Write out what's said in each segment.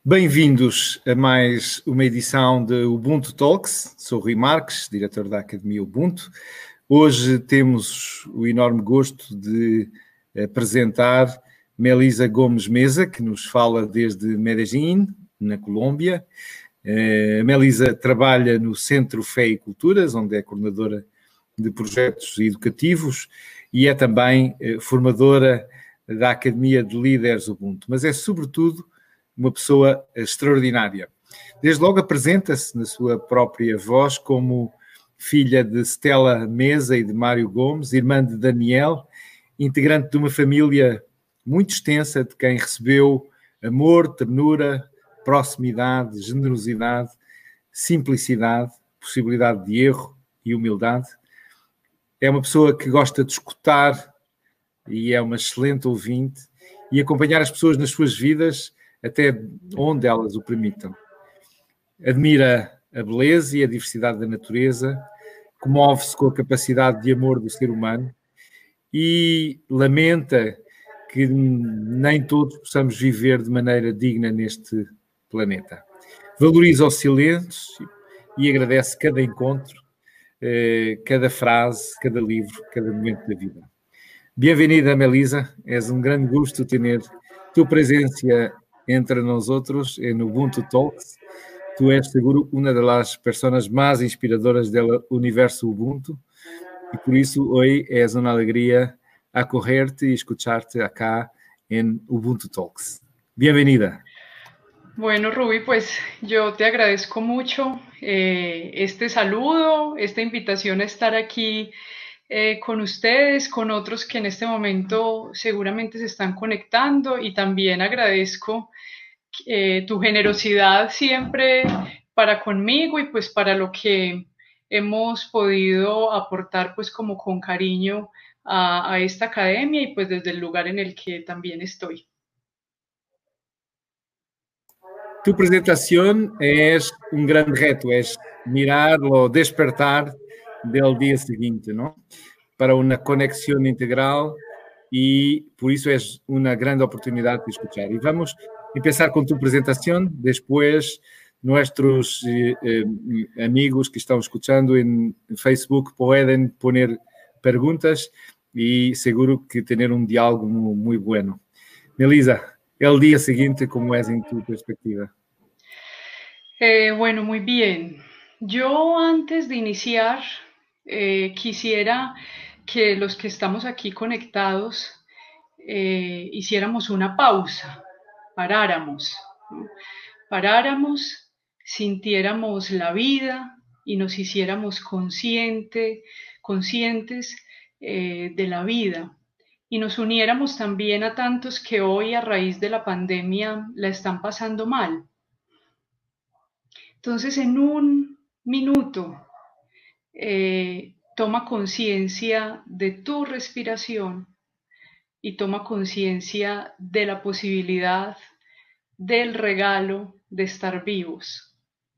Bem-vindos a mais uma edição de Ubuntu Talks. Sou Rui Marques, diretor da Academia Ubuntu. Hoje temos o enorme gosto de apresentar Melisa Gomes Meza, que nos fala desde Medellín, na Colômbia. A Melisa trabalha no Centro Fé e Culturas, onde é coordenadora de projetos educativos e é também formadora da Academia de Líderes Ubuntu, mas é sobretudo uma pessoa extraordinária. Desde logo apresenta-se na sua própria voz como filha de Stella Meza e de Mário Gomes, irmã de Daniel, integrante de uma família muito extensa de quem recebeu amor, ternura, proximidade, generosidade, simplicidade, possibilidade de erro e humildade. É uma pessoa que gosta de escutar e é uma excelente ouvinte e acompanhar as pessoas nas suas vidas até onde elas o permitam. Admira a beleza e a diversidade da natureza, comove-se com a capacidade de amor do ser humano e lamenta que nem todos possamos viver de maneira digna neste planeta. Valoriza o silêncio e agradece cada encontro, cada frase, cada livro, cada momento da vida. Bem-vinda, Melisa. Es un gran gusto tener tu presencia entre nosotros en Ubuntu Talks. Tú eres seguro una de las personas más inspiradoras del universo Ubuntu y por eso hoy es una alegría acogerte y escucharte acá en Ubuntu Talks. Bienvenida. Bueno, Ruby, pues yo te agradezco mucho este saludo, esta invitación a estar aquí con ustedes, con otros que en este momento seguramente se están conectando, y también agradezco tu generosidad siempre para conmigo y pues para lo que hemos podido aportar pues como con cariño a esta academia y pues desde el lugar en el que también estoy. Tu presentación es un gran reto, es mirar o despertar del día siguiente, ¿no? Para una conexión integral y por eso es una gran oportunidad de escuchar. Y vamos a empezar con tu presentación, después nuestros amigos que están escuchando en Facebook pueden poner preguntas y seguro que tener un diálogo muy, muy bueno. Melisa, el día siguiente, ¿cómo es en tu perspectiva? Bueno, muy bien. Yo antes de iniciar quisiera que los que estamos aquí conectados hiciéramos una pausa, paráramos, ¿no? Paráramos, sintiéramos la vida y nos hiciéramos conscientes de la vida, y nos uniéramos también a tantos que hoy a raíz de la pandemia la están pasando mal. Entonces, en un minuto, toma conciencia de tu respiración y toma conciencia de la posibilidad del regalo de estar vivos.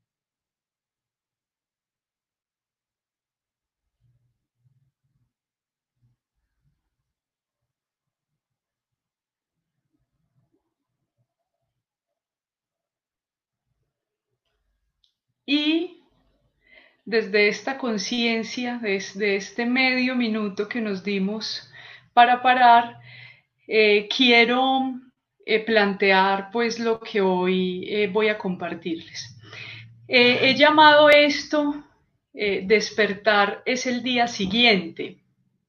Y desde esta conciencia, desde este medio minuto que nos dimos para parar, quiero plantear pues lo que hoy voy a compartirles. He llamado esto despertar es el día siguiente,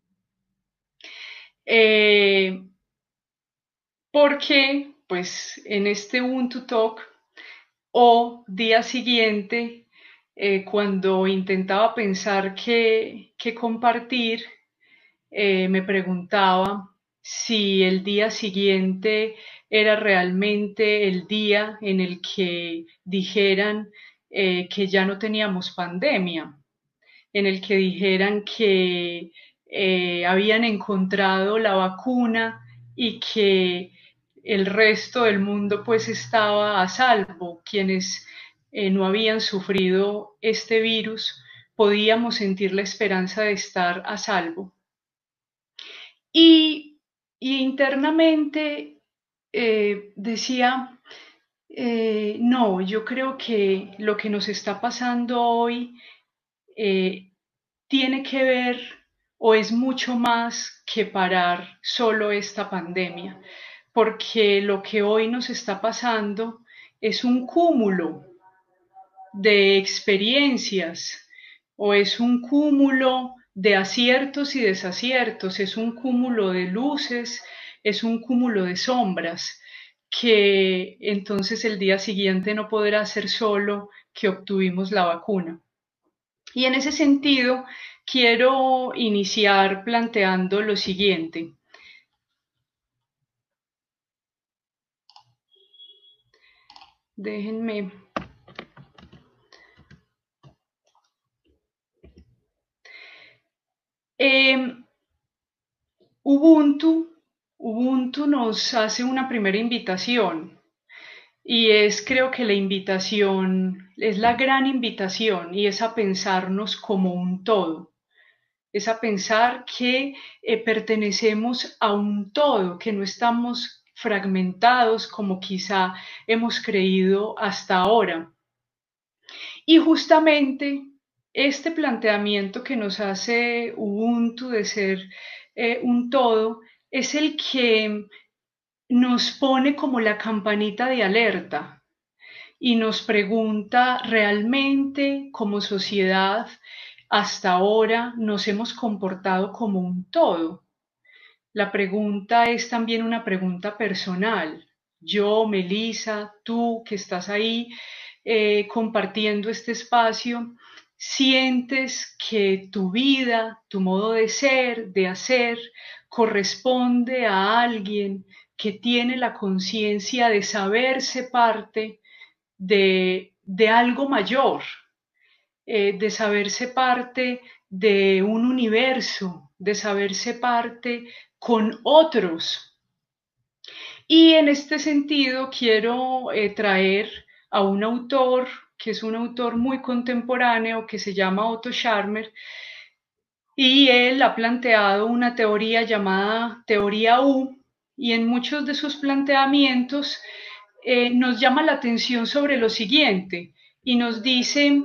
porque pues en este Ubuntu Talk o día siguiente, cuando intentaba pensar qué compartir, me preguntaba si el día siguiente era realmente el día en el que dijeran que ya no teníamos pandemia, en el que dijeran que habían encontrado la vacuna y que el resto del mundo pues estaba a salvo. Quienes no habían sufrido este virus podíamos sentir la esperanza de estar a salvo. Y internamente decía, No, yo creo que lo que nos está pasando hoy tiene que ver o es mucho más que parar solo esta pandemia, porque lo que hoy nos está pasando es un cúmulo de experiencias o es un cúmulo de aciertos y desaciertos, es un cúmulo de luces, es un cúmulo de sombras, que entonces el día siguiente no podrá ser solo que obtuvimos la vacuna. Y en ese sentido, quiero iniciar planteando lo siguiente. Déjenme. Ubuntu, Ubuntu nos hace una primera invitación y es, creo que la invitación es la gran invitación y es a pensarnos como un todo, es a pensar que pertenecemos a un todo, que no estamos fragmentados como quizá hemos creído hasta ahora. Y justamente este planteamiento que nos hace Ubuntu de ser un todo es el que nos pone como la campanita de alerta y nos pregunta realmente como sociedad hasta ahora nos hemos comportado como un todo. La pregunta es también una pregunta personal. Yo, Melissa, tú que estás ahí compartiendo este espacio, sientes que tu vida, tu modo de ser, de hacer, corresponde a alguien que tiene la conciencia de saberse parte de algo mayor, de saberse parte de un universo, de saberse parte con otros. Y en este sentido quiero traer a un autor que es un autor muy contemporáneo que se llama Otto Scharmer y él ha planteado una teoría llamada teoría U y en muchos de sus planteamientos nos llama la atención sobre lo siguiente y nos dice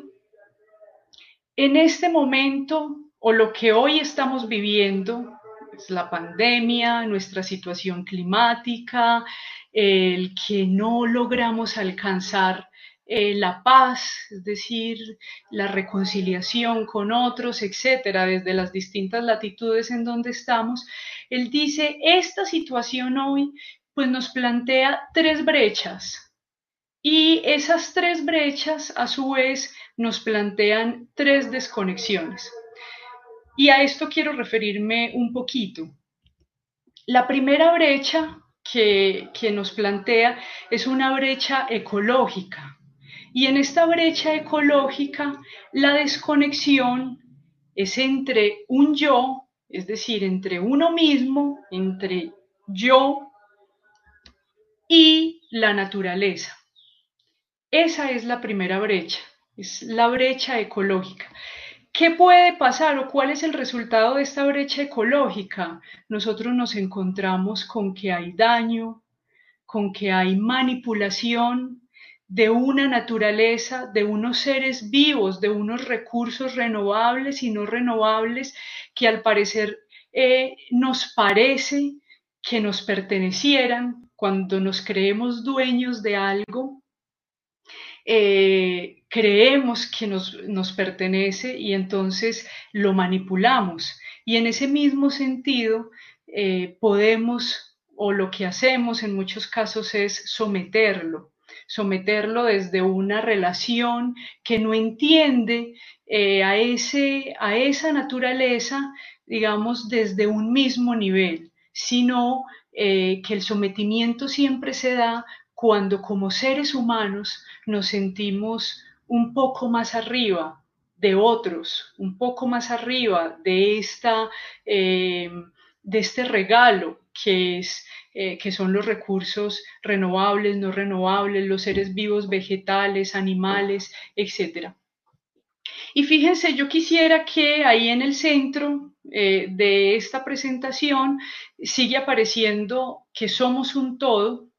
en este momento o lo que hoy estamos viviendo, es la pandemia, nuestra situación climática, el que no logramos alcanzar la paz, es decir, la reconciliación con otros, etcétera, desde las distintas latitudes en donde estamos, él dice, esta situación hoy pues nos plantea tres brechas y esas tres brechas, a su vez, nos plantean tres desconexiones. Y a esto quiero referirme un poquito. La primera brecha que nos plantea es una brecha ecológica. Y en esta brecha ecológica, la desconexión es entre un yo, es decir, entre uno mismo, entre yo y la naturaleza. Esa es la primera brecha, es la brecha ecológica. ¿Qué puede pasar o cuál es el resultado de esta brecha ecológica? Nosotros nos encontramos con que hay daño, con que hay manipulación de una naturaleza, de unos seres vivos, de unos recursos renovables y no renovables que al parecer nos parece que nos pertenecieran cuando nos creemos dueños de algo creemos que nos pertenece y entonces lo manipulamos. Y en ese mismo sentido, podemos, o lo que hacemos en muchos casos es someterlo desde una relación que no entiende a esa naturaleza, digamos, desde un mismo nivel, sino que el sometimiento siempre se da cuando como seres humanos nos sentimos un poco más arriba de otros, un poco más arriba de este regalo que son los recursos renovables, no renovables, los seres vivos, vegetales, animales, etcétera. Y fíjense, yo quisiera que ahí en el centro de esta presentación sigue apareciendo que somos un todo,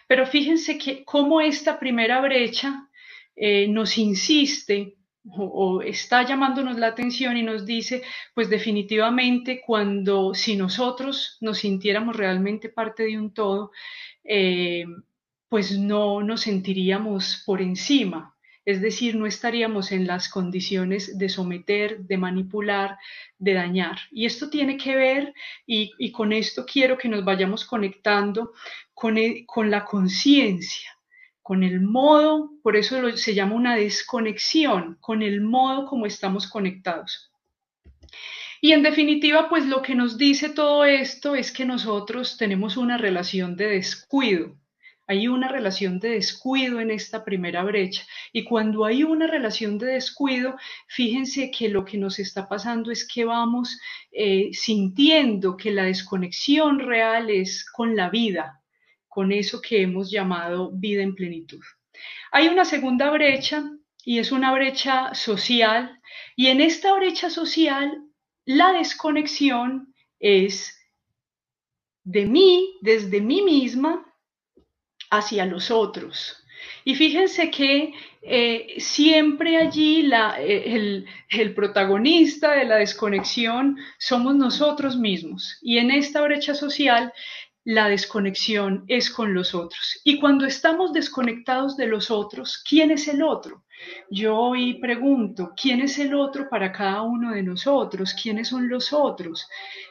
Pero fíjense que cómo esta primera brecha nos insiste o está llamándonos la atención y nos dice, pues definitivamente si nosotros nos sintiéramos realmente parte de un todo, eh, pues no nos sentiríamos por encima, es decir, no estaríamos en las condiciones de someter, de manipular, de dañar. Y esto tiene que ver, y con esto quiero que nos vayamos conectando con la conciencia, con el modo, por eso se llama una desconexión, con el modo como estamos conectados. Y en definitiva, pues lo que nos dice todo esto es que nosotros tenemos una relación de descuido. Hay una relación de descuido en esta primera brecha. Y cuando hay una relación de descuido, fíjense que lo que nos está pasando es que vamos sintiendo que la desconexión real es con la vida, con eso que hemos llamado vida en plenitud. Hay una segunda brecha y es una brecha social, y en esta brecha social la desconexión es de mí, desde mí misma, hacia los otros. Y fíjense que siempre allí el protagonista de la desconexión somos nosotros mismos. Y en esta brecha social la desconexión es con los otros. Y cuando estamos desconectados de los otros, ¿quién es el otro? Yo hoy pregunto, ¿quién es el otro para cada uno de nosotros? ¿Quiénes son los otros?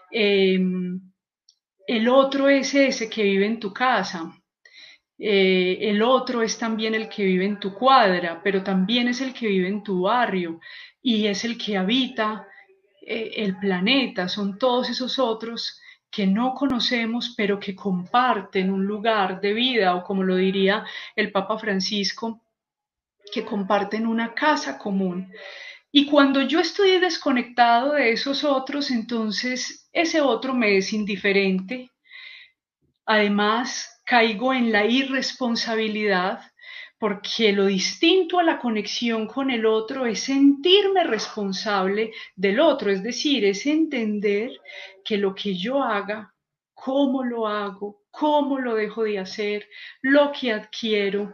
El otro es ese que vive en tu casa. El otro es también el que vive en tu cuadra, pero también es el que vive en tu barrio y es el que habita el planeta. Son todos esos otros que no conocemos, pero que comparten un lugar de vida, o como lo diría el Papa Francisco, que comparten una casa común. Y cuando yo estoy desconectado de esos otros, entonces ese otro me es indiferente. Además, caigo en la irresponsabilidad porque lo distinto a la conexión con el otro es sentirme responsable del otro, es decir, es entender que lo que yo haga, cómo lo hago, cómo lo dejo de hacer, lo que adquiero,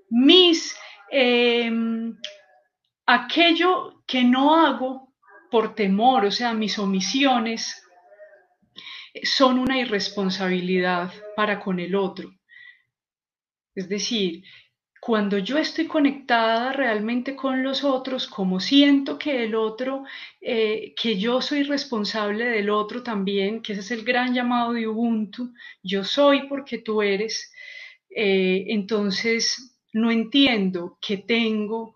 eh, aquello que no hago por temor, o sea, mis omisiones, son una irresponsabilidad para con el otro. Es decir, cuando yo estoy conectada realmente con los otros, como siento que el otro, que yo soy responsable del otro también, que ese es el gran llamado de Ubuntu, yo soy porque tú eres, entonces no entiendo que tengo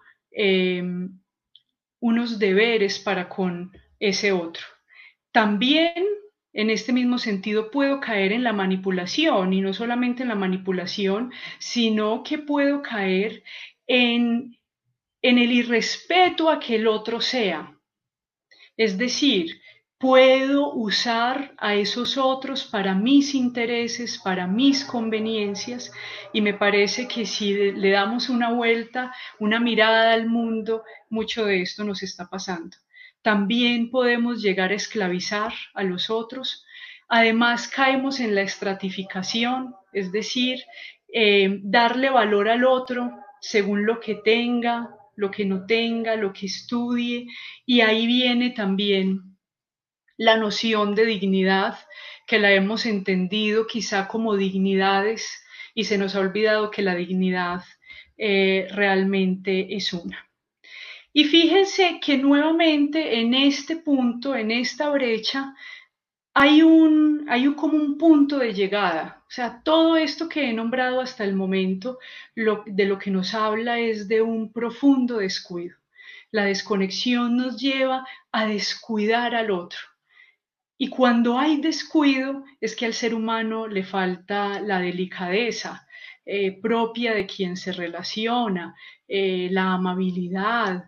unos deberes para con ese otro. También en este mismo sentido puedo caer en la manipulación, y no solamente en la manipulación, sino que puedo caer en el irrespeto a que el otro sea. Es decir, puedo usar a esos otros para mis intereses, para mis conveniencias, y me parece que si le damos una vuelta, una mirada al mundo, mucho de esto nos está pasando. También podemos llegar a esclavizar a los otros. Además, caemos en la estratificación, es decir, darle valor al otro según lo que tenga, lo que no tenga, lo que estudie, y ahí viene también la noción de dignidad, que la hemos entendido quizá como dignidades y se nos ha olvidado que la dignidad realmente es una. Y fíjense que nuevamente en este punto, en esta brecha, hay como un punto de llegada. O sea, todo esto que he nombrado hasta el momento, de lo que nos habla es de un profundo descuido. La desconexión nos lleva a descuidar al otro. Y cuando hay descuido es que al ser humano le falta la delicadeza propia de quien se relaciona, la amabilidad,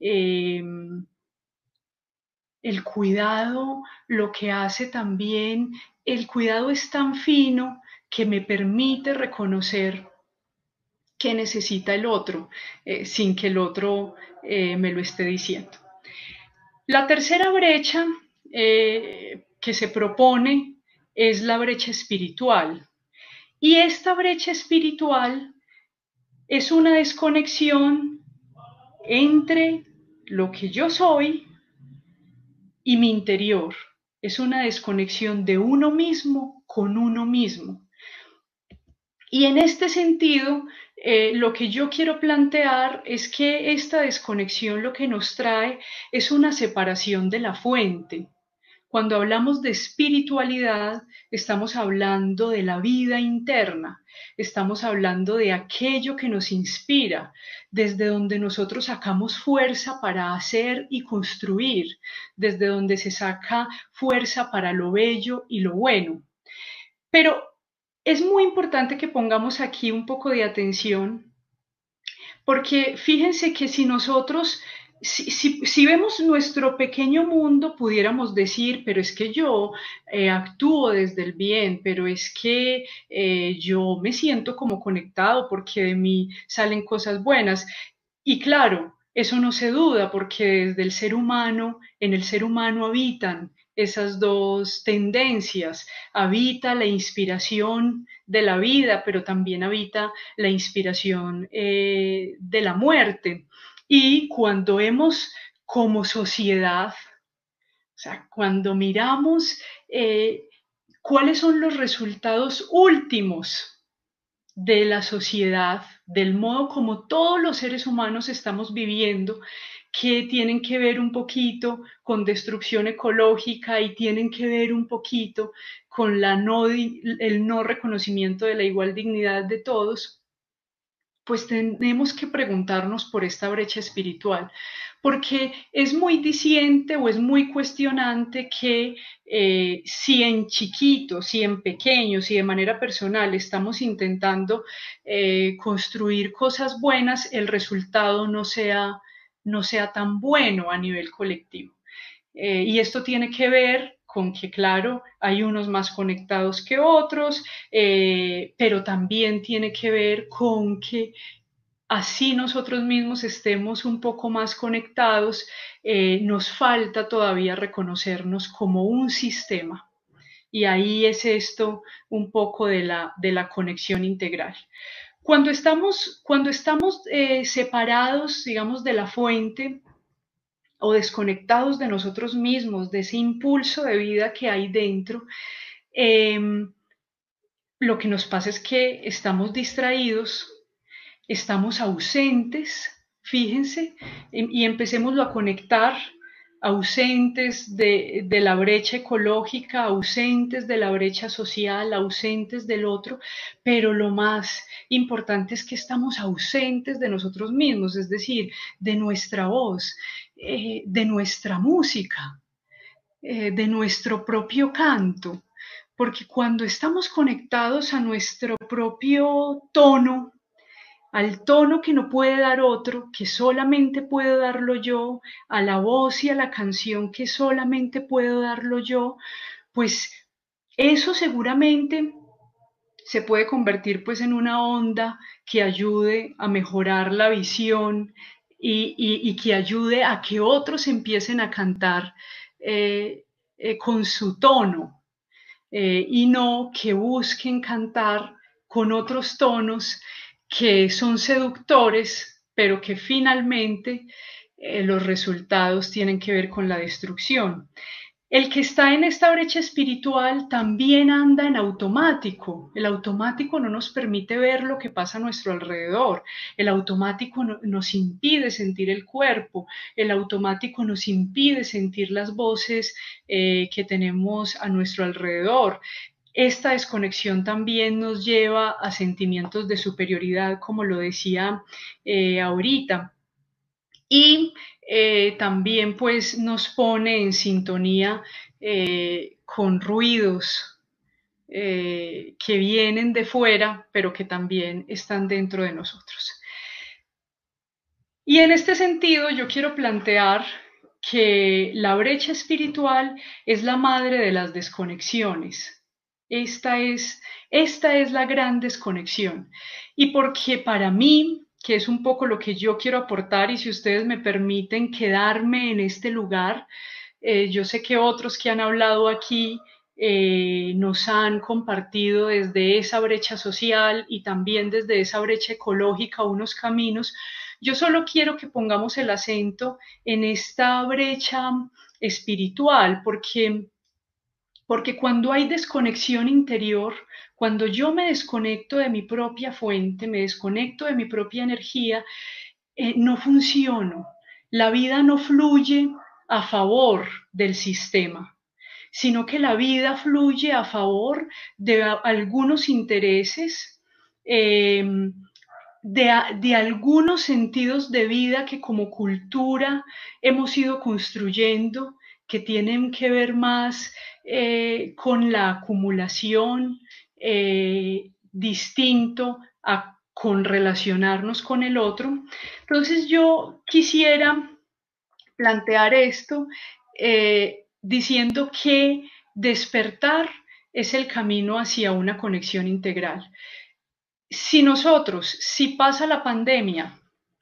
el cuidado, lo que hace también, el cuidado es tan fino que me permite reconocer qué necesita el otro sin que el otro me lo esté diciendo. La tercera brecha que se propone es la brecha espiritual. Y esta brecha espiritual es una desconexión entre lo que yo soy y mi interior. Es una desconexión de uno mismo con uno mismo. Y en este sentido, lo que yo quiero plantear es que esta desconexión lo que nos trae es una separación de la fuente. Cuando hablamos de espiritualidad, estamos hablando de la vida interna, estamos hablando de aquello que nos inspira, desde donde nosotros sacamos fuerza para hacer y construir, desde donde se saca fuerza para lo bello y lo bueno. Pero es muy importante que pongamos aquí un poco de atención, porque fíjense que si nosotros, si vemos nuestro pequeño mundo, pudiéramos decir, pero es que yo actúo desde el bien, pero es que yo me siento como conectado porque de mí salen cosas buenas. Y claro, eso no se duda porque desde el ser humano, en el ser humano habitan esas dos tendencias, habita la inspiración de la vida, pero también habita la inspiración de la muerte. Y cuando hemos como sociedad, o sea, cuando miramos cuáles son los resultados últimos de la sociedad, del modo como todos los seres humanos estamos viviendo, que tienen que ver un poquito con destrucción ecológica y tienen que ver un poquito con el no reconocimiento de la igual dignidad de todos, pues tenemos que preguntarnos por esta brecha espiritual, porque es muy diciente o es muy cuestionante que si en chiquito, si en pequeño, si de manera personal estamos intentando construir cosas buenas, el resultado no sea tan bueno a nivel colectivo. Y esto tiene que ver con que, claro, hay unos más conectados que otros, pero también tiene que ver con que así nosotros mismos estemos un poco más conectados, nos falta todavía reconocernos como un sistema. Y ahí es esto un poco de la conexión integral. Cuando estamos separados, digamos, de la fuente, o desconectados de nosotros mismos, de ese impulso de vida que hay dentro, eh, lo que nos pasa es que estamos distraídos, estamos ausentes, fíjense, y empecémoslo a conectar, ausentes de la brecha ecológica, ausentes de la brecha social, ausentes del otro, pero lo más importante es que estamos ausentes de nosotros mismos, es decir, de nuestra voz, de nuestra música, de nuestro propio canto, porque cuando estamos conectados a nuestro propio tono, al tono que no puede dar otro, que solamente puedo darlo yo, a la voz y a la canción que solamente puedo darlo yo, pues eso seguramente se puede convertir pues en una onda que ayude a mejorar la visión y que ayude a que otros empiecen a cantar con su tono y no que busquen cantar con otros tonos que son seductores, pero que finalmente los resultados tienen que ver con la destrucción. El que está en esta brecha espiritual también anda en automático. El automático no nos permite ver lo que pasa a nuestro alrededor. El automático nos impide sentir el cuerpo. El automático nos impide sentir las voces que tenemos a nuestro alrededor. Esta desconexión también nos lleva a sentimientos de superioridad, como lo decía ahorita. Y también pues nos pone en sintonía con ruidos que vienen de fuera, pero que también están dentro de nosotros. Y en este sentido yo quiero plantear que la brecha espiritual es la madre de las desconexiones. Esta es la gran desconexión. Y porque para mí, que es un poco lo que yo quiero aportar, y si ustedes me permiten quedarme en este lugar, yo sé que otros que han hablado aquí nos han compartido desde esa brecha social y también desde esa brecha ecológica unos caminos. Yo solo quiero que pongamos el acento en esta brecha espiritual, porque cuando hay desconexión interior, cuando yo me desconecto de mi propia fuente, me desconecto de mi propia energía, no funciono. La vida no fluye a favor del sistema, sino que la vida fluye a favor de algunos intereses, eh, de algunos sentidos de vida que como cultura hemos ido construyendo, que tienen que ver más con la acumulación, distinto a con relacionarnos con el otro. Entonces yo quisiera plantear esto diciendo que despertar es el camino hacia una conexión integral. Si pasa la pandemia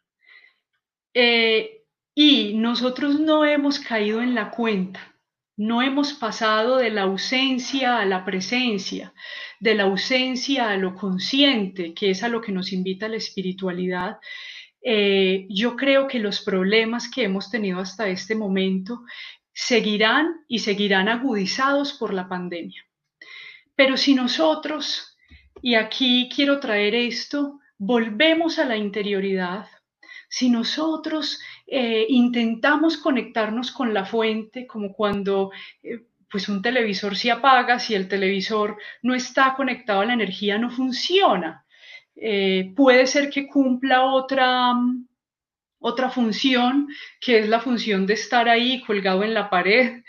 y nosotros no hemos caído en la cuenta, no hemos pasado de la ausencia a la presencia, de la ausencia a lo consciente, que es a lo que nos invita la espiritualidad, yo creo que los problemas que hemos tenido hasta este momento seguirán y seguirán agudizados por la pandemia. Pero si nosotros, y aquí quiero traer esto, volvemos a la interioridad, si nosotros intentamos conectarnos con la fuente, como cuando pues un televisor se apaga, si el televisor no está conectado a la energía, no funciona. Puede ser que cumpla otra función, que es la función de estar ahí colgado en la pared,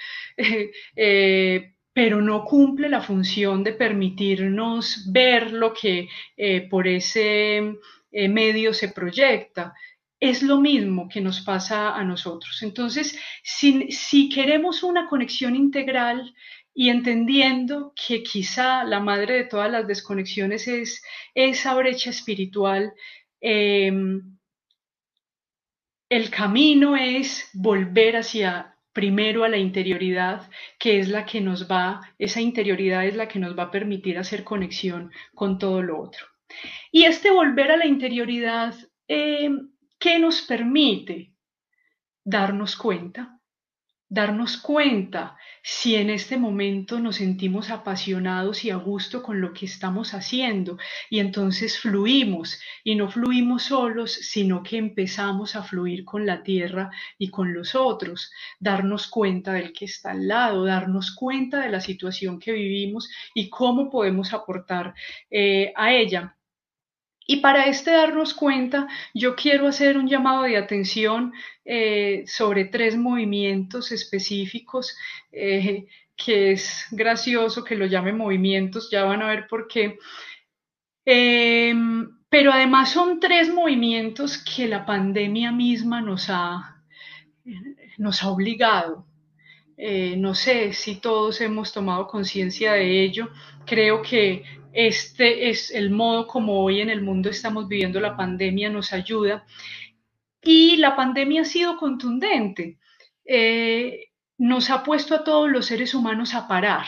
pero no cumple la función de permitirnos ver lo que por ese medio se proyecta. Es lo mismo que nos pasa a nosotros. Entonces, si queremos una conexión integral y entendiendo que quizá la madre de todas las desconexiones es esa brecha espiritual, el camino es volver hacia primero a la interioridad, que es la que esa interioridad es la que nos va a permitir hacer conexión con todo lo otro. Y este volver a la interioridad, ¿qué nos permite? Darnos cuenta si en este momento nos sentimos apasionados y a gusto con lo que estamos haciendo y entonces fluimos y no fluimos solos, sino que empezamos a fluir con la tierra y con los otros, darnos cuenta del que está al lado, darnos cuenta de la situación que vivimos y cómo podemos aportar a ella. Y para darnos cuenta, yo quiero hacer un llamado de atención sobre 3 movimientos específicos, que es gracioso que lo llame movimientos, ya van a ver por qué. Pero además son 3 movimientos que la pandemia misma nos ha obligado. No sé si todos hemos tomado conciencia de ello. Creo que este es el modo como hoy en el mundo estamos viviendo la pandemia, nos ayuda. Y la pandemia ha sido contundente. Nos ha puesto a todos los seres humanos a parar.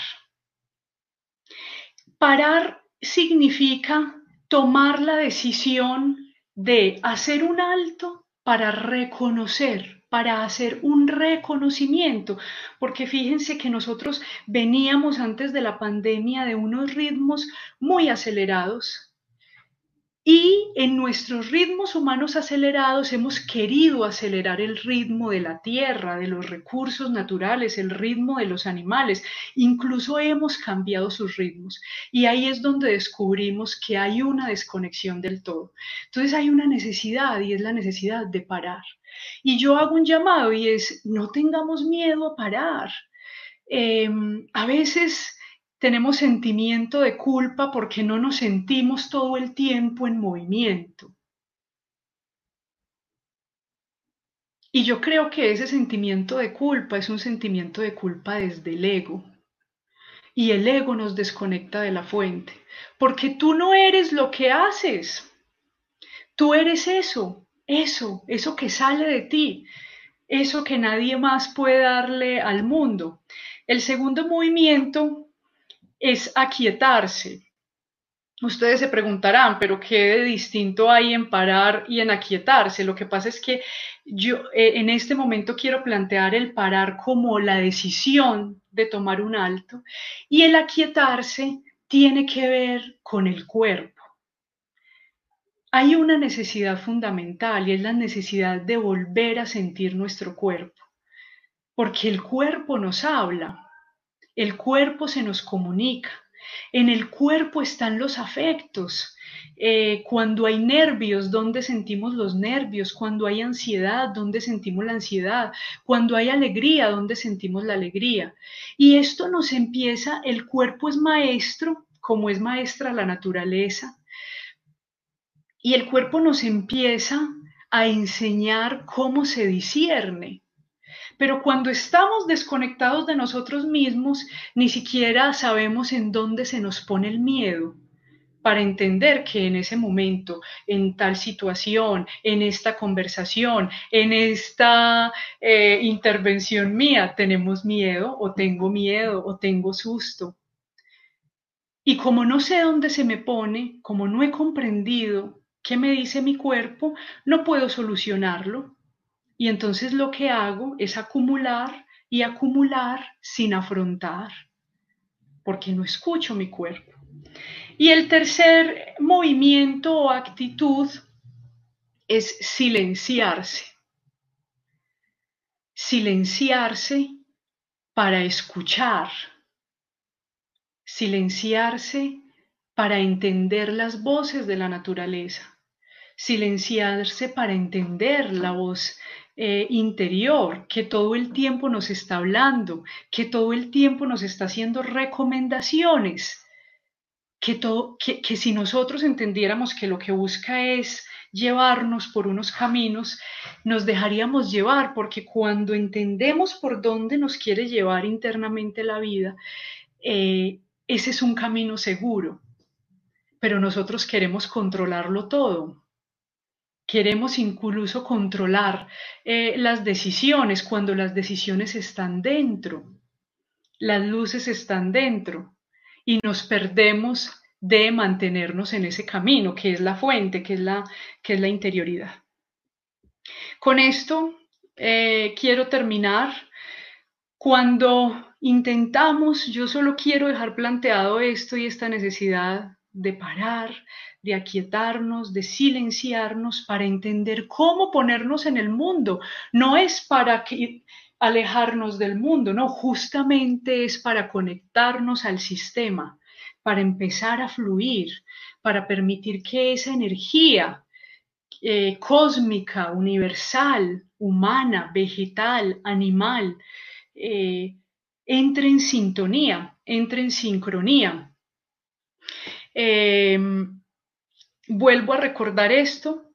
Parar significa tomar la decisión de hacer un alto para reconocer, para hacer un reconocimiento, porque fíjense que nosotros veníamos antes de la pandemia de unos ritmos muy acelerados y en nuestros ritmos humanos acelerados hemos querido acelerar el ritmo de la tierra, de los recursos naturales, el ritmo de los animales, incluso hemos cambiado sus ritmos y ahí es donde descubrimos que hay una desconexión del todo. Entonces hay una necesidad y es la necesidad de parar. Y yo hago un llamado y es, no tengamos miedo a parar. A veces tenemos sentimiento de culpa porque no nos sentimos todo el tiempo en movimiento. Y yo creo que ese sentimiento de culpa es un sentimiento de culpa desde el ego. Y el ego nos desconecta de la fuente. Porque tú no eres lo que haces. Tú eres eso que sale de ti. Eso que nadie más puede darle al mundo. El segundo movimiento es aquietarse. Ustedes se preguntarán, pero ¿qué de distinto hay en parar y en aquietarse? Lo que pasa es que yo en este momento quiero plantear el parar como la decisión de tomar un alto, y el aquietarse tiene que ver con el cuerpo. Hay una necesidad fundamental y es la necesidad de volver a sentir nuestro cuerpo, porque el cuerpo nos habla, el cuerpo se nos comunica. En el cuerpo están los afectos. Cuando hay nervios, ¿dónde sentimos los nervios? Cuando hay ansiedad, ¿dónde sentimos la ansiedad? Cuando hay alegría, ¿dónde sentimos la alegría? Y esto nos empieza, el cuerpo es maestro, como es maestra la naturaleza, y el cuerpo nos empieza a enseñar cómo se discierne. Pero cuando estamos desconectados de nosotros mismos, ni siquiera sabemos en dónde se nos pone el miedo para entender que en ese momento, en tal situación, en esta conversación, en esta intervención mía, tenemos miedo o tengo susto. Y como no sé dónde se me pone, como no he comprendido qué me dice mi cuerpo, no puedo solucionarlo. Y entonces lo que hago es acumular y acumular sin afrontar, porque no escucho mi cuerpo. Y el tercer movimiento o actitud es silenciarse. Silenciarse para escuchar. Silenciarse para entender las voces de la naturaleza. Silenciarse para entender la voz interior, que todo el tiempo nos está hablando, que todo el tiempo nos está haciendo recomendaciones, que si nosotros entendiéramos que lo que busca es llevarnos por unos caminos, nos dejaríamos llevar, porque cuando entendemos por dónde nos quiere llevar internamente la vida, ese es un camino seguro, pero nosotros queremos controlarlo todo. Queremos incluso controlar las decisiones cuando las decisiones están dentro, las luces están dentro y nos perdemos de mantenernos en ese camino que es la fuente, que es la interioridad. Con esto quiero terminar. Cuando intentamos, yo solo quiero dejar planteado esto y esta necesidad de parar, de aquietarnos, de silenciarnos para entender cómo ponernos en el mundo. No es para alejarnos del mundo, no, justamente es para conectarnos al sistema, para empezar a fluir, para permitir que esa energía cósmica, universal, humana, vegetal, animal, entre en sintonía, entre en sincronía. Vuelvo a recordar esto,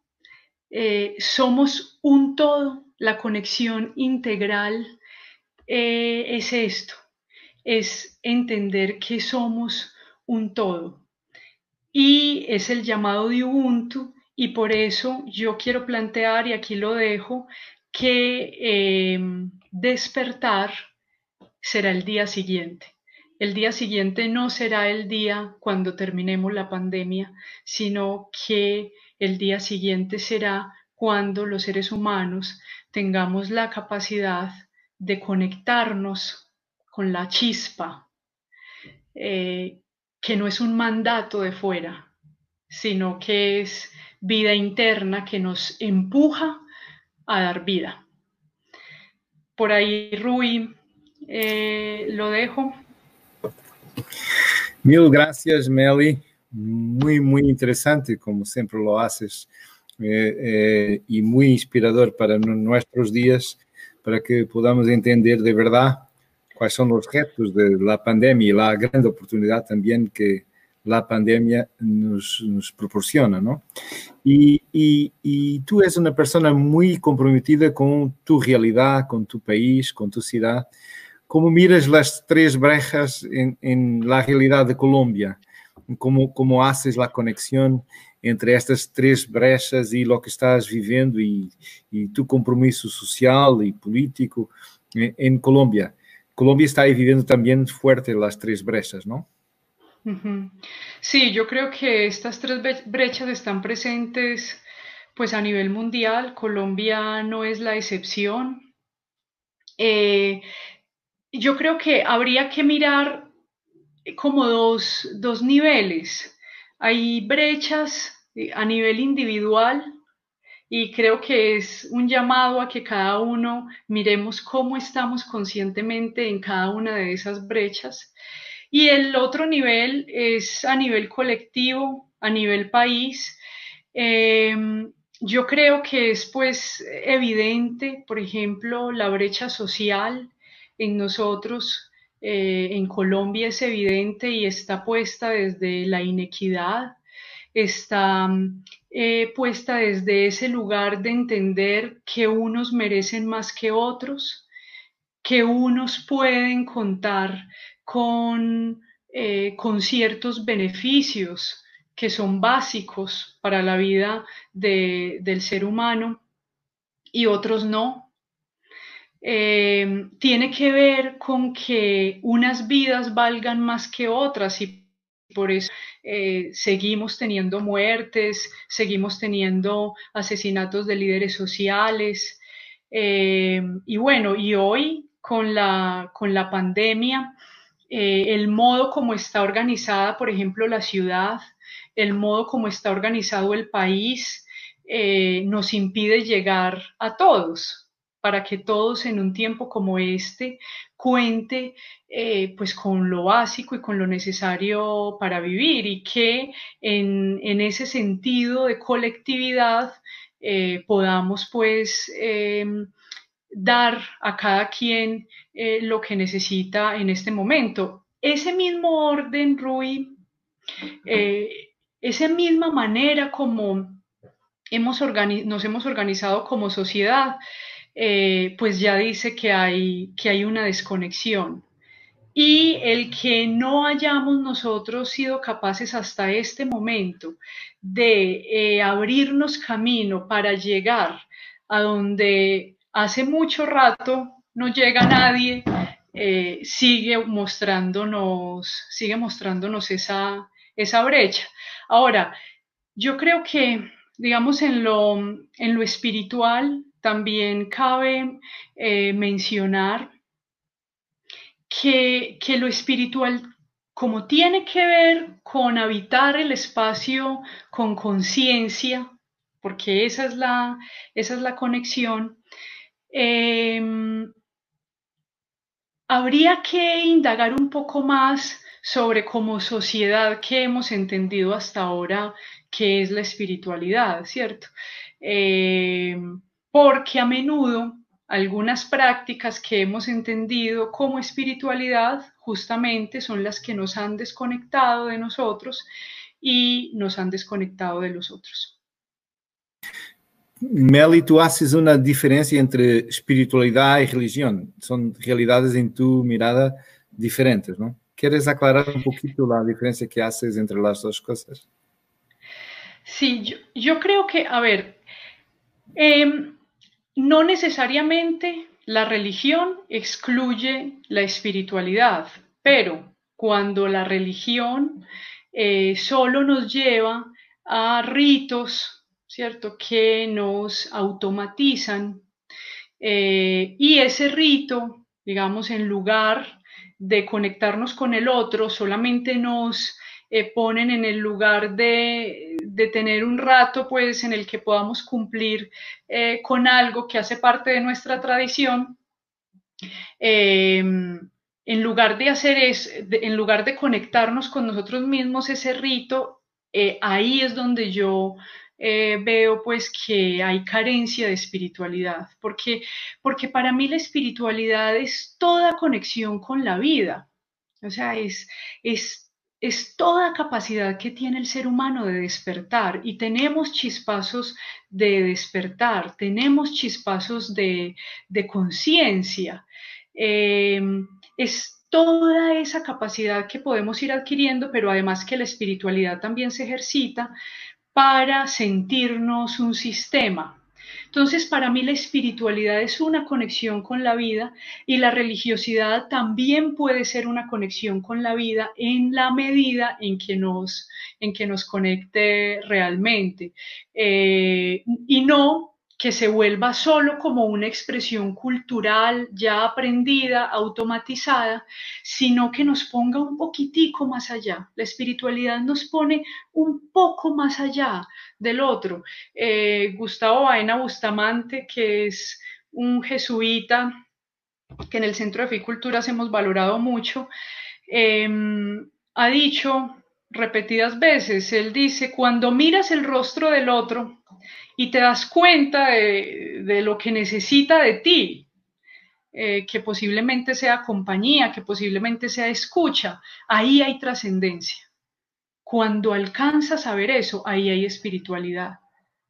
somos un todo, la conexión integral es esto, es entender que somos un todo. Y es el llamado de Ubuntu, y por eso yo quiero plantear, y aquí lo dejo, que despertar será el día siguiente. El día siguiente no será el día cuando terminemos la pandemia, sino que el día siguiente será cuando los seres humanos tengamos la capacidad de conectarnos con la chispa, que no es un mandato de fuera, sino que es vida interna que nos empuja a dar vida. Por ahí, Rui, lo dejo. Mil gracias, Meli. Muy, muy interesante, como siempre lo haces, y muy inspirador para nuestros días, para que podamos entender de verdad cuáles son los retos de la pandemia y la gran oportunidad también que la pandemia nos proporciona, ¿no? Y tú eres una persona muy comprometida con tu realidad, con tu país, con tu ciudad. ¿Cómo miras las tres brechas en la realidad de Colombia? ¿Cómo haces la conexión entre estas tres brechas y lo que estás viviendo y tu compromiso social y político en Colombia? Colombia está ahí viviendo también fuerte las tres brechas, ¿no? Ujú. Sí, yo creo que estas tres brechas están presentes pues a nivel mundial. Colombia no es la excepción. Eh, yo creo que habría que mirar como dos niveles. Hay brechas a nivel individual y creo que es un llamado a que cada uno miremos cómo estamos conscientemente en cada una de esas brechas. Y el otro nivel es a nivel colectivo, a nivel país. Eh, yo creo que es pues evidente, por ejemplo, la brecha social en nosotros, en Colombia es evidente y está puesta desde la inequidad, está puesta desde ese lugar de entender que unos merecen más que otros, que unos pueden contar con ciertos beneficios que son básicos para la vida del ser humano y otros no. Tiene que ver con que unas vidas valgan más que otras y por eso seguimos teniendo muertes, seguimos teniendo asesinatos de líderes sociales. Y bueno, y hoy con la pandemia, el modo como está organizada, por ejemplo, la ciudad, el modo como está organizado el país, nos impide llegar a todos para que todos en un tiempo como este cuente pues con lo básico y con lo necesario para vivir y que en ese sentido de colectividad podamos pues dar a cada quien lo que necesita en este momento. Ese mismo orden, Rui, eh, esa misma manera como nos hemos organizado como sociedad, pues ya dice que hay una desconexión. Y el que no hayamos nosotros sido capaces hasta este momento de abrirnos camino para llegar a donde hace mucho rato no llega nadie, sigue mostrándonos esa brecha. Ahora, yo creo que, digamos, en lo espiritual también cabe mencionar que lo espiritual, como tiene que ver con habitar el espacio con conciencia, porque esa es la conexión, eh, habría que indagar un poco más sobre como sociedad que hemos entendido hasta ahora qué es la espiritualidad, ¿cierto? Eh, porque a menudo algunas prácticas que hemos entendido como espiritualidad justamente son las que nos han desconectado de nosotros y nos han desconectado de los otros. Meli, tú haces una diferencia entre espiritualidad y religión. Son realidades en tu mirada diferentes, ¿no? ¿Quieres aclarar un poquito la diferencia que haces entre las dos cosas? Sí, yo creo que, a ver, eh, no necesariamente la religión excluye la espiritualidad, pero cuando la religión solo nos lleva a ritos, ¿cierto?, que nos automatizan y ese rito, digamos, en lugar de conectarnos con el otro, solamente nos ponen en el lugar de tener un rato pues en el que podamos cumplir con algo que hace parte de nuestra tradición, en lugar de hacer eso, en lugar de conectarnos con nosotros mismos, ese rito, ahí es donde yo veo pues que hay carencia de espiritualidad, porque para mí la espiritualidad es toda conexión con la vida, o sea, es toda capacidad que tiene el ser humano de despertar y tenemos chispazos de despertar, tenemos chispazos de conciencia. Eh, es toda esa capacidad que podemos ir adquiriendo, pero además que la espiritualidad también se ejercita para sentirnos un sistema. Entonces, para mí la espiritualidad es una conexión con la vida y la religiosidad también puede ser una conexión con la vida en la medida en que nos conecte realmente. Y no que se vuelva solo como una expresión cultural ya aprendida, automatizada, sino que nos ponga un poquitico más allá. La espiritualidad nos pone un poco más allá del otro. Gustavo Baena Bustamante, que es un jesuita que en el Centro de Fe y Culturas hemos valorado mucho, eh, ha dicho repetidas veces, él dice, cuando miras el rostro del otro y te das cuenta de lo que necesita de ti, que posiblemente sea compañía, que posiblemente sea escucha, ahí hay trascendencia. Cuando alcanzas a ver eso, ahí hay espiritualidad.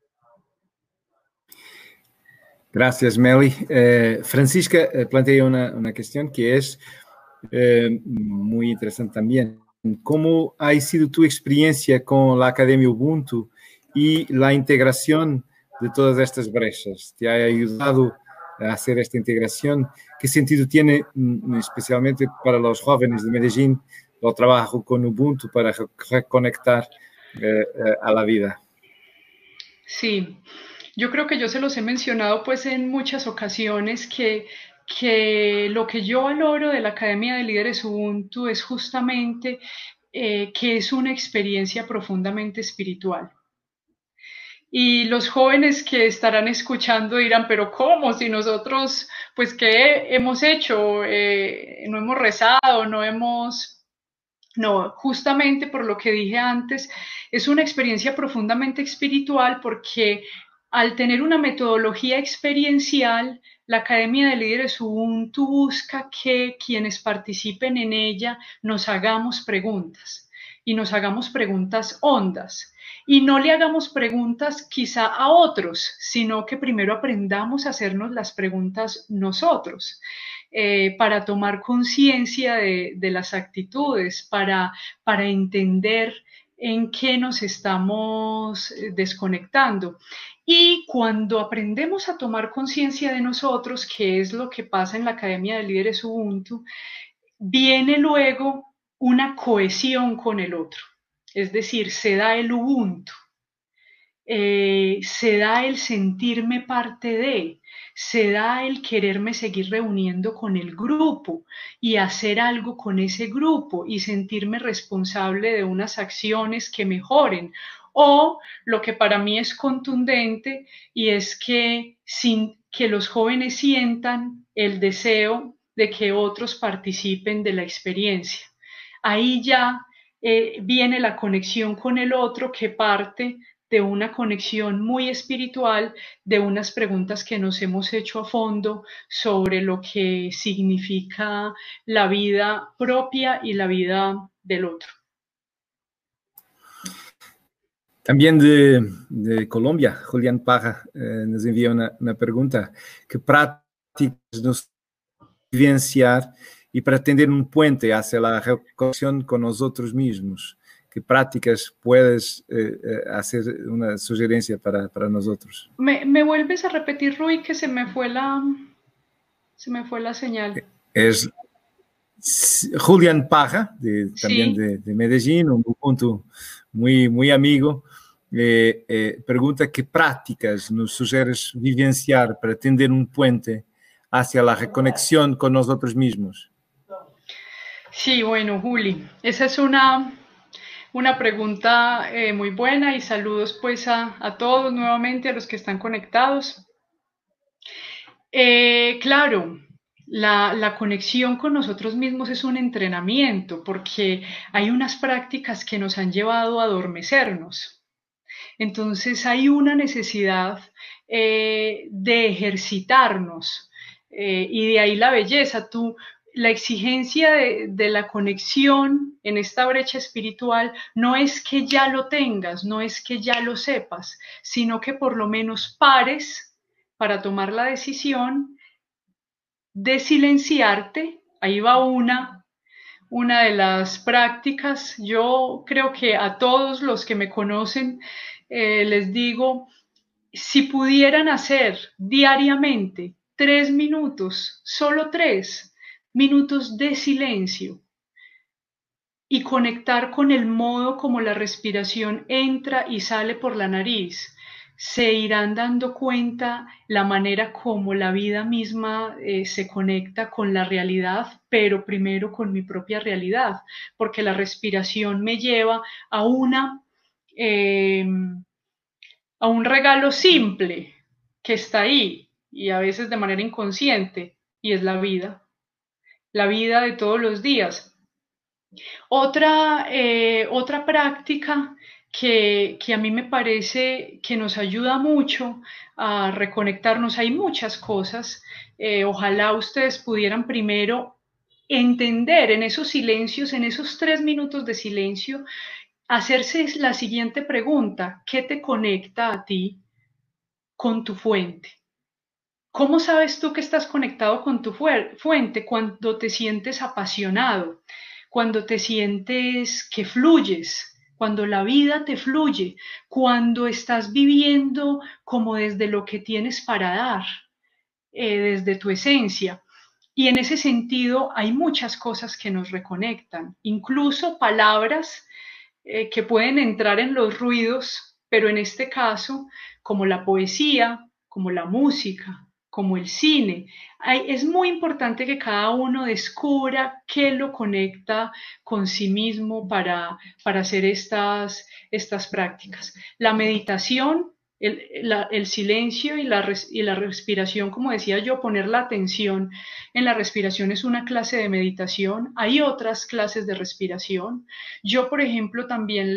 Gracias, Meli. Francisca plantea una cuestión que es muy interesante también. ¿Cómo ha sido tu experiencia con la Academia Ubuntu y la integración de todas estas brechas? ¿Te ha ayudado a hacer esta integración? ¿Qué sentido tiene, especialmente para los jóvenes de Medellín, el trabajo con Ubuntu para reconectar a la vida? Sí, yo creo que yo se los he mencionado pues en muchas ocasiones que lo que yo valoro de la Academia de Líderes Ubuntu es justamente que es una experiencia profundamente espiritual. Y los jóvenes que estarán escuchando dirán, pero ¿cómo? Si nosotros, pues, ¿qué hemos hecho? No hemos rezado, no hemos... No, justamente por lo que dije antes, es una experiencia profundamente espiritual porque al tener una metodología experiencial, la Academia de Líderes Ubuntu busca que quienes participen en ella nos hagamos preguntas y nos hagamos preguntas hondas. Y no le hagamos preguntas quizá a otros, sino que primero aprendamos a hacernos las preguntas nosotros. Para tomar conciencia de las actitudes, para entender en qué nos estamos desconectando. Y cuando aprendemos a tomar conciencia de nosotros, que es lo que pasa en la Academia de Líderes Ubuntu, viene luego una cohesión con el otro. Es decir, se da el Ubuntu. Se da el sentirme parte de, se da el quererme seguir reuniendo con el grupo y hacer algo con ese grupo y sentirme responsable de unas acciones que mejoren. O lo que para mí es contundente y es que sin que los jóvenes sientan el deseo de que otros participen de la experiencia. Ahí ya viene la conexión con el otro que parte de una conexión muy espiritual, de unas preguntas que nos hemos hecho a fondo sobre lo que significa la vida propia y la vida del otro. También de Colombia, Julián Parra nos envía una pregunta. ¿Qué prácticas nos vivenciar y para tender un puente hacia la reconexión con nosotros mismos? ¿Qué prácticas puedes hacer una sugerencia para nosotros? ¿Me vuelves a repetir, Rui, que se me fue la señal? Es Julián Parra, también Sí. de Medellín, un punto muy amigo. Pregunta qué prácticas nos sugieres vivenciar para tender un puente hacia la reconexión con nosotros mismos. Sí, bueno, Juli, esa es una pregunta muy buena y saludos pues a todos nuevamente, a los que están conectados. Claro, la conexión con nosotros mismos es un entrenamiento porque hay unas prácticas que nos han llevado a adormecernos. Entonces hay una necesidad de ejercitarnos y de ahí la belleza. La exigencia de la conexión en esta brecha espiritual no es que ya lo tengas, no es que ya lo sepas, sino que por lo menos pares para tomar la decisión de silenciarte. Ahí va una de las prácticas. Yo creo que a todos los que me conocen les digo, si pudieran hacer diariamente 3 minutos, solo 3 minutos de silencio y conectar con el modo como la respiración entra y sale por la nariz, se irán dando cuenta la manera como la vida misma se conecta con la realidad, pero primero con mi propia realidad, porque la respiración me lleva a eh, a un regalo simple que está ahí y a veces de manera inconsciente, y es la vida de todos los días. Otra práctica que a mí me parece que nos ayuda mucho a reconectarnos, hay muchas cosas, ojalá ustedes pudieran primero entender en esos silencios, en esos 3 minutos de silencio, hacerse la siguiente pregunta: ¿qué te conecta a ti con tu fuente? ¿Cómo sabes tú que estás conectado con tu fuente? Cuando te sientes apasionado, cuando te sientes que fluyes, cuando la vida te fluye, cuando estás viviendo como desde lo que tienes para dar, desde tu esencia. Y en ese sentido hay muchas cosas que nos reconectan, incluso palabras que pueden entrar en los ruidos, pero en este caso, como la poesía, como la música, como el cine. Es muy importante que cada uno descubra qué lo conecta con sí mismo para hacer estas prácticas. La meditación, el silencio y la respiración, como decía yo, poner la atención en la respiración es una clase de meditación. Hay otras clases de respiración. Yo, por ejemplo, también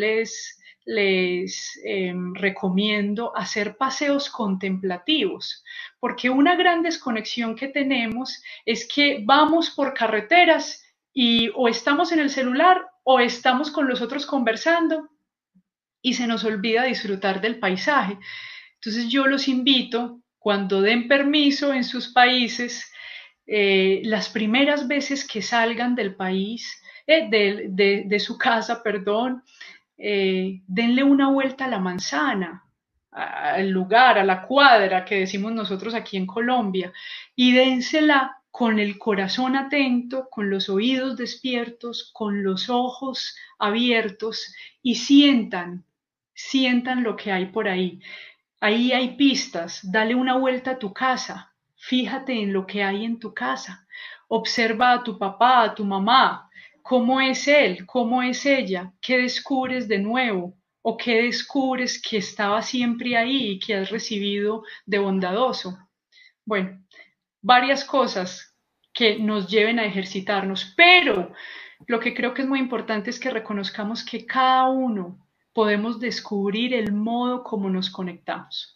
les recomiendo hacer paseos contemplativos, porque una gran desconexión que tenemos es que vamos por carreteras y o estamos en el celular o estamos con los otros conversando y se nos olvida disfrutar del paisaje. Entonces yo los invito, cuando den permiso en sus países, las primeras veces que salgan del país, de su casa, perdón, denle una vuelta a la manzana, al lugar, a la cuadra que decimos nosotros aquí en Colombia, y dénsela con el corazón atento, con los oídos despiertos, con los ojos abiertos y sientan lo que hay por ahí. Ahí hay pistas, dale una vuelta a tu casa, fíjate en lo que hay en tu casa, observa a tu papá, a tu mamá, cómo es él, cómo es ella, qué descubres de nuevo o qué descubres que estaba siempre ahí y que has recibido de bondadoso. Bueno, varias cosas que nos lleven a ejercitarnos, pero lo que creo que es muy importante es que reconozcamos que cada uno podemos descubrir el modo como nos conectamos.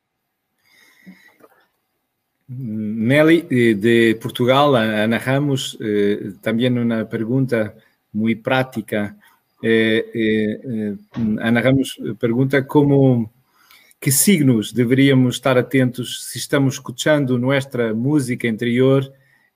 Nelly, de Portugal, Ana Ramos, también una pregunta muy práctica. Ana Ramos pergunta que signos deveríamos estar atentos si estamos escuchando nuestra música interior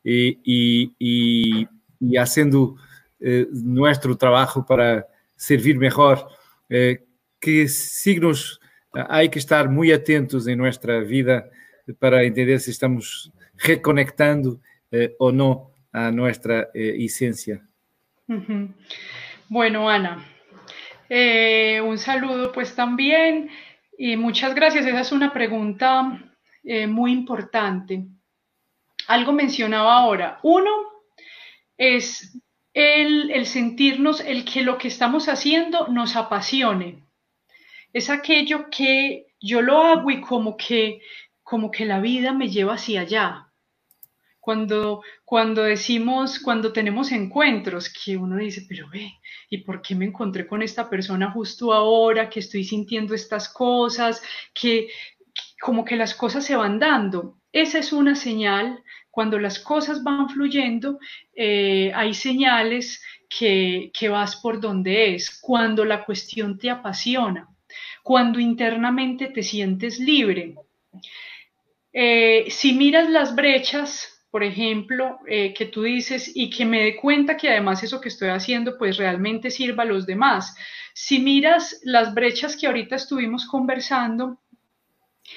y haciendo nuestro trabajo para servir mejor. ¿Qué signos hay que estar muy atentos en nuestra vida para entender si estamos reconectando o no a nuestra esencia? Uh-huh. Bueno, Ana, un saludo pues también y muchas gracias. Esa es una pregunta muy importante. Algo mencionaba ahora. Uno es el sentirnos, el que lo que estamos haciendo nos apasione. Es aquello que yo lo hago y como que la vida me lleva hacia allá. Cuando decimos, cuando tenemos encuentros, que uno dice, pero ve, ¿y por qué me encontré con esta persona justo ahora, que estoy sintiendo estas cosas, que como que las cosas se van dando? Esa es una señal. Cuando las cosas van fluyendo, hay señales que vas por donde es. Cuando la cuestión te apasiona, cuando internamente te sientes libre. Si miras las brechas, por ejemplo, que tú dices y que me dé cuenta que además eso que estoy haciendo pues realmente sirva a los demás. Si miras las brechas que ahorita estuvimos conversando,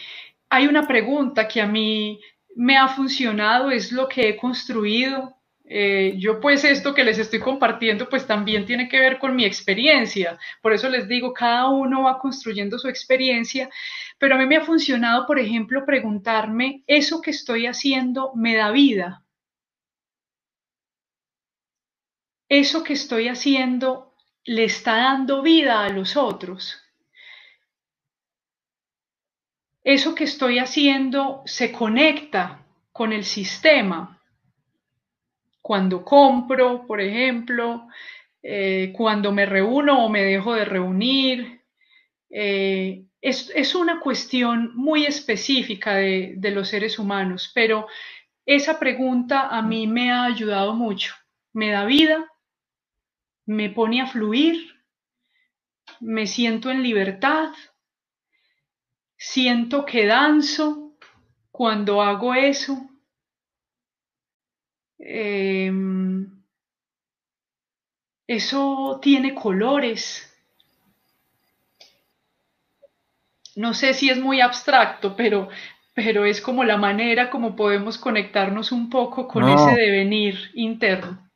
hay una pregunta que a mí me ha funcionado, es lo que he construido. Yo pues esto que les estoy compartiendo pues también tiene que ver con mi experiencia. Por eso les digo, cada uno va construyendo su experiencia, pero a mí me ha funcionado, por ejemplo, preguntarme, ¿eso que estoy haciendo me da vida? ¿Eso que estoy haciendo le está dando vida a los otros? ¿Eso que estoy haciendo se conecta con el sistema? Cuando compro, por ejemplo, cuando me reúno o me dejo de reunir. Es una cuestión muy específica de los seres humanos, pero esa pregunta a mí me ha ayudado mucho. Me da vida, me pone a fluir, me siento en libertad, siento que danzo cuando hago eso. Eh, Eso tiene colores. No sé si es muy abstracto, pero es como la manera como podemos conectarnos un poco con ese No, devenir interno.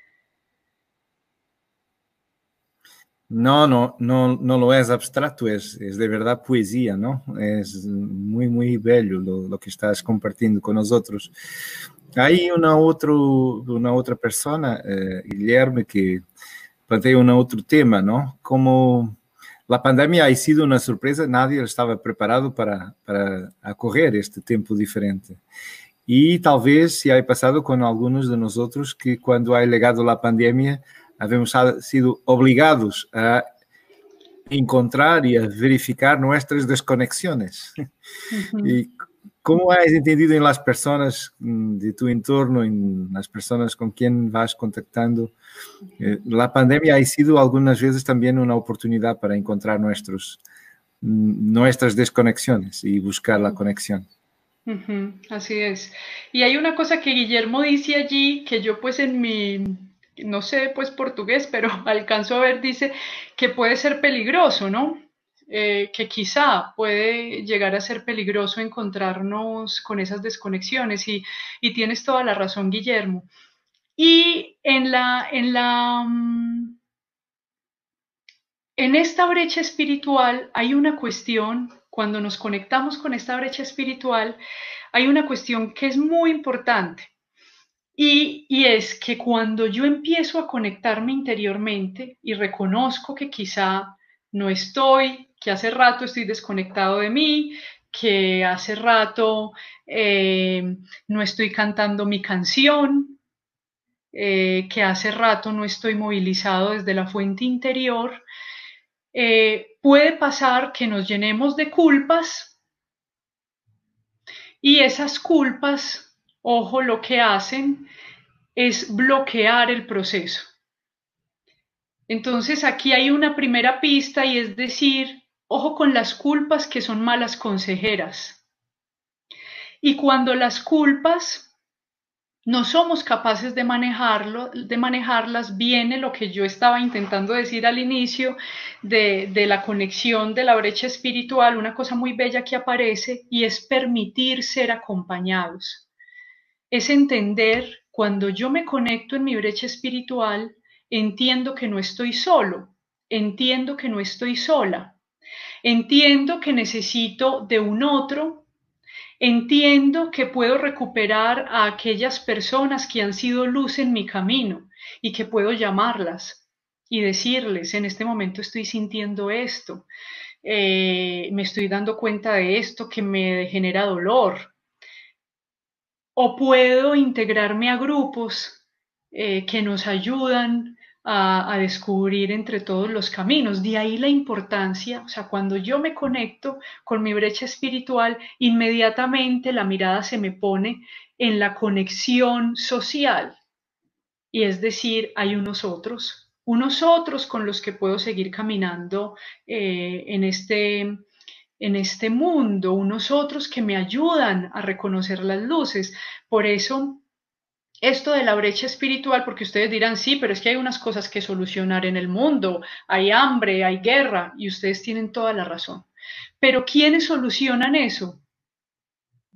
no lo es abstracto, es de verdad poesía, ¿no? Es muy, muy bello lo que estás compartiendo con nosotros. Hay una otra persona, Guillermo, que plantea un otro tema, ¿no? Como la pandemia ha sido una sorpresa, nadie estaba preparado para acoger este tiempo diferente. Y talvez se haya pasado con algunos de nosotros que cuando ha llegado la pandemia habemos sido obligados a encontrar y a verificar nuestras desconexiones. Uh -huh. ¿Y cómo has entendido en las personas de tu entorno, en las personas con quien vas contactando? La pandemia ha sido algunas veces también una oportunidad para encontrar nuestras desconexiones y buscar la conexión. Uh -huh, así es. Y hay una cosa que Guillermo dice allí, que yo pues en mi, no sé pues portugués, pero alcanzo a ver, dice que puede ser peligroso, ¿no? Que quizá puede llegar a ser peligroso encontrarnos con esas desconexiones y tienes toda la razón, Guillermo. Y en esta brecha espiritual hay una cuestión, cuando nos conectamos con esta brecha espiritual, hay una cuestión que es muy importante y es que cuando yo empiezo a conectarme interiormente y reconozco que quizá no estoy, que hace rato estoy desconectado de mí, que hace rato no estoy cantando mi canción, que hace rato no estoy movilizado desde la fuente interior, puede pasar que nos llenemos de culpas y esas culpas, ojo, lo que hacen es bloquear el proceso. Entonces aquí hay una primera pista y es decir, ojo con las culpas que son malas consejeras. Y cuando las culpas no somos capaces de manejarlas, viene lo que yo estaba intentando decir al inicio de la conexión de la brecha espiritual, una cosa muy bella que aparece y es permitir ser acompañados. Es entender, cuando yo me conecto en mi brecha espiritual, entiendo que no estoy solo, entiendo que no estoy sola, entiendo que necesito de un otro. Entiendo que puedo recuperar a aquellas personas que han sido luz en mi camino y que puedo llamarlas y decirles, en este momento estoy sintiendo esto, me estoy dando cuenta de esto que me genera dolor. O puedo integrarme a grupos que nos ayudan a descubrir entre todos los caminos. De ahí la importancia, o sea, cuando yo me conecto con mi brecha espiritual, inmediatamente la mirada se me pone en la conexión social. Y es decir, hay unos otros con los que puedo seguir caminando en este mundo, unos otros que me ayudan a reconocer las luces. Por eso, esto de la brecha espiritual, porque ustedes dirán, sí, pero es que hay unas cosas que solucionar en el mundo, hay hambre, hay guerra, y ustedes tienen toda la razón. Pero ¿quiénes solucionan eso?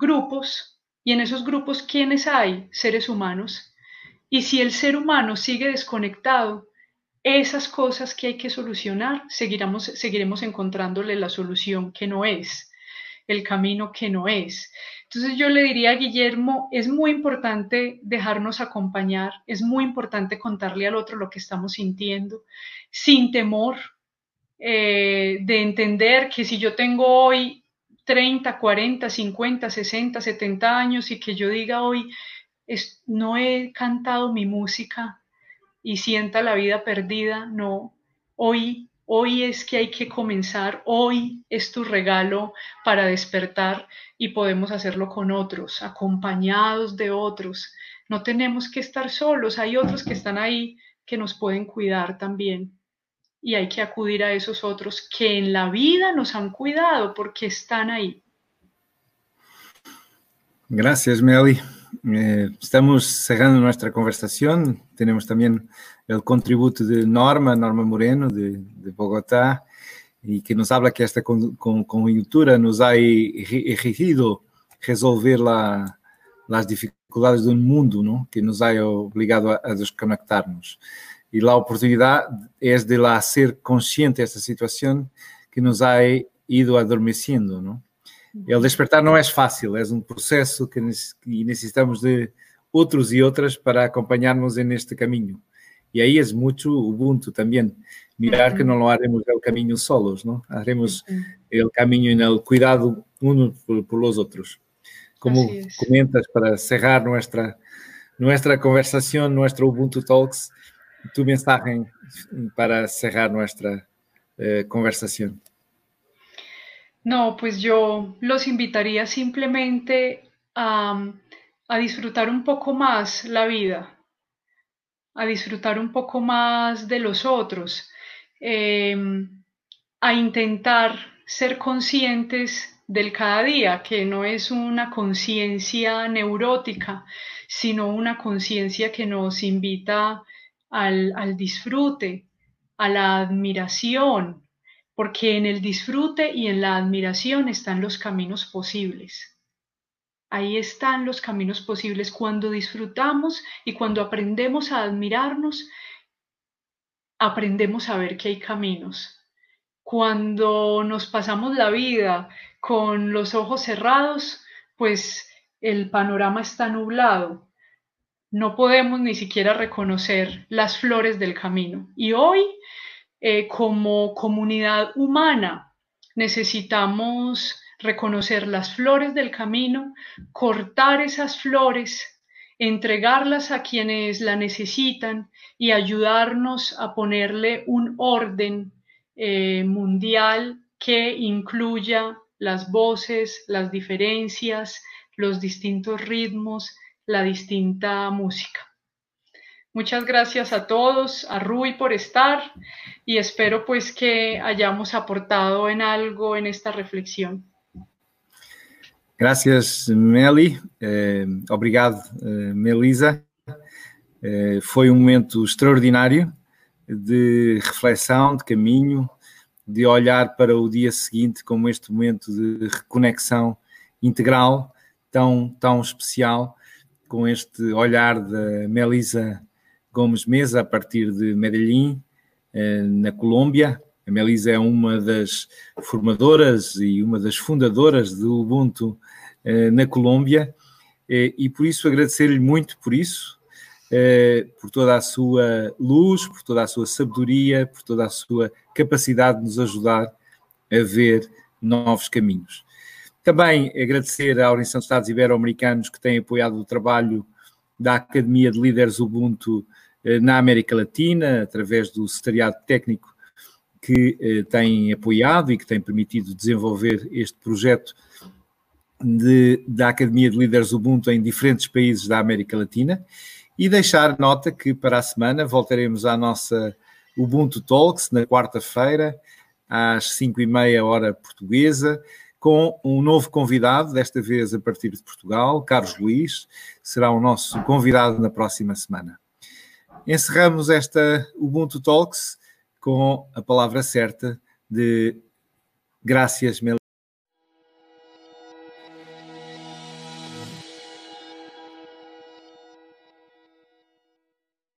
grupos, y en esos grupos, ¿quiénes hay? Seres humanos. Y si el ser humano sigue desconectado, esas cosas que hay que solucionar, seguiremos encontrándole la solución que no es, el camino que no es. Entonces yo le diría a Guillermo, es muy importante dejarnos acompañar, es muy importante contarle al otro lo que estamos sintiendo, sin temor de entender que si yo tengo hoy 30, 40, 50, 60, 70 años y que yo diga hoy, no he cantado mi música y sienta la vida perdida, no, hoy es que hay que comenzar, hoy es tu regalo para despertar y podemos hacerlo con otros, acompañados de otros. No tenemos que estar solos, hay otros que están ahí que nos pueden cuidar también y hay que acudir a esos otros que en la vida nos han cuidado porque están ahí. Gracias, Meli. Estamos cerrando nuestra conversación. Tenemos también el contributo de Norma Moreno, de Bogotá, y que nos habla que esta coyuntura nos ha exigido resolver las dificultades de un mundo, ¿no? Que nos ha obligado a desconectarnos. Y la oportunidad es de la ser consciente de esta situación que nos ha ido adormeciendo, ¿no? El despertar não é fácil, é um processo que necessitamos de outros e outras para acompanharnos neste caminho. E aí é muito Ubuntu também, mirar que não lo haremos el caminho solos, ¿no? Haremos el caminho en el cuidado unos por los otros. Como comentas, para cerrar nuestra conversación, nuestro Ubuntu Talks, tu mensaje para cerrar nuestra conversación. No, pues yo los invitaría simplemente a disfrutar un poco más la vida, a disfrutar un poco más de los otros, a intentar ser conscientes del cada día, que no es una conciencia neurótica, sino una conciencia que nos invita al disfrute, a la admiración, porque en el disfrute y en la admiración están los caminos posibles. Ahí están los caminos posibles. Cuando disfrutamos y cuando aprendemos a admirarnos, aprendemos a ver que hay caminos. Cuando nos pasamos la vida con los ojos cerrados, pues el panorama está nublado. No podemos ni siquiera reconocer las flores del camino. Y hoy, como comunidad humana, necesitamos reconocer las flores del camino, cortar esas flores, entregarlas a quienes la necesitan y ayudarnos a ponerle un orden mundial que incluya las voces, las diferencias, los distintos ritmos, la distinta música. Muchas gracias a todos, a Rui por estar y espero pues que hayamos aportado en algo en esta reflexión. Gracias, Meli. Obrigado, Melisa. Foi um momento extraordinário de reflexão, de caminho, de olhar para o dia seguinte como este momento de reconexão integral tão especial, com este olhar da Melisa Gomes Mesa, a partir de Medellín, na Colômbia. A Melisa é uma das formadoras e uma das fundadoras do Ubuntu na Colômbia, e por isso agradecer-lhe muito por isso, por toda a sua luz, por toda a sua sabedoria, por toda a sua capacidade de nos ajudar a ver novos caminhos. Também agradecer à Organização de Estados Ibero-Americanos que tem apoiado o trabalho da Academia de Líderes Ubuntu na América Latina, através do secretariado técnico que tem apoiado e que tem permitido desenvolver este projeto da Academia de Líderes Ubuntu em diferentes países da América Latina, e deixar nota que para a semana voltaremos à nossa Ubuntu Talks na quarta-feira, às 5h30 hora portuguesa, com um novo convidado, desta vez a partir de Portugal, Carlos Luís, será o nosso convidado na próxima semana. Encerramos esta Ubuntu Talks com a palavra certa de Gracias, Mel.